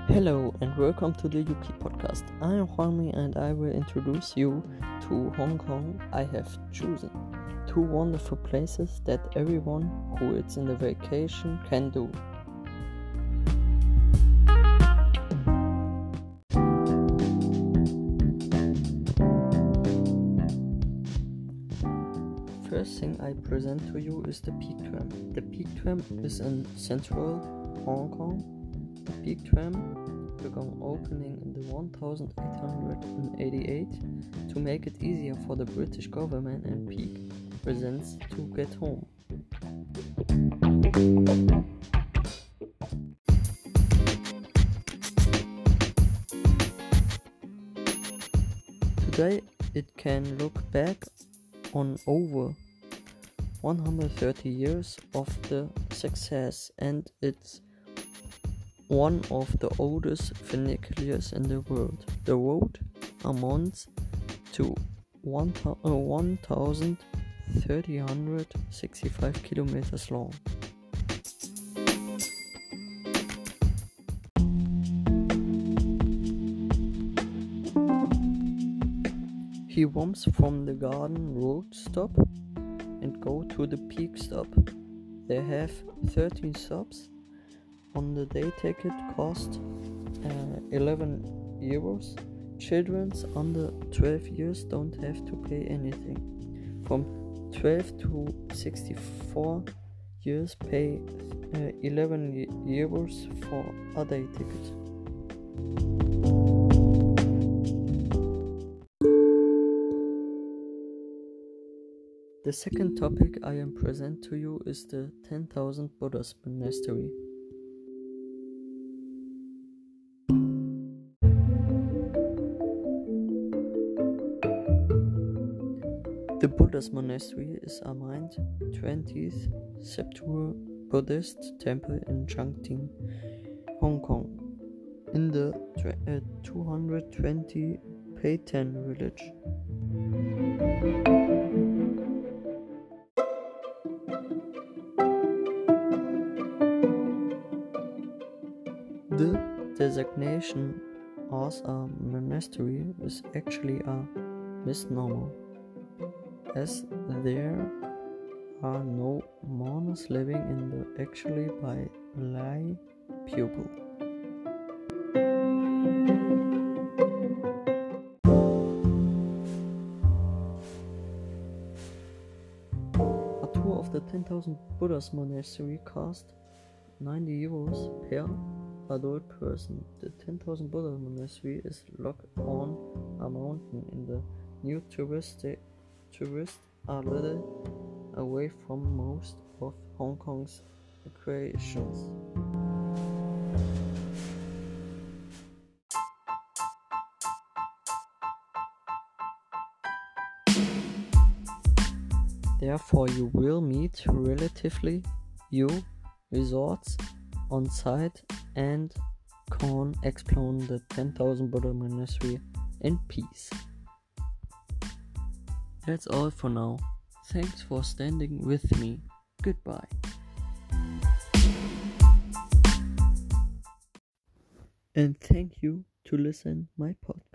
Hello and welcome to the Yuki podcast. I am Hwami and I will introduce you to Hong Kong. I have chosen two wonderful places that everyone who is in the vacation can do. First thing I present to you is the Peak Tram. The Peak Tram is in central Hong Kong. The Peak Tram began opening in the 1888 to make it easier for the British government and Peak residents to get home. Today it can look back on over 130 years of the success, and it's one of the oldest funicularies in the world. The road amounts to 1,365 kilometers long. He roams from the Garden Road stop and go to the Peak stop. They have 13 stops. On the day ticket cost €11. Children under 12 years don't have to pay anything. From 12 to 64 years pay €11 for a day ticket. The second topic I am present to you is the 10,000 Buddhas Monastery. The Buddha's Monastery is a 20th century Buddhist temple in Changting, Hong Kong, in the 220 Peitan village. The designation as a monastery is actually a misnomer, as there are no monks living in the actually by lay pupil. A tour of the 10,000 Buddhas Monastery cost €90 per adult person. The 10,000 Buddha Monastery is located on a mountain in the new tourists are little away from most of Hong Kong's recreations. Therefore, you will meet relatively few resorts on site and can explore the 10,000 Buddha Monastery in peace. That's all for now. Thanks for standing with me. Goodbye. And thank you to listen my podcast.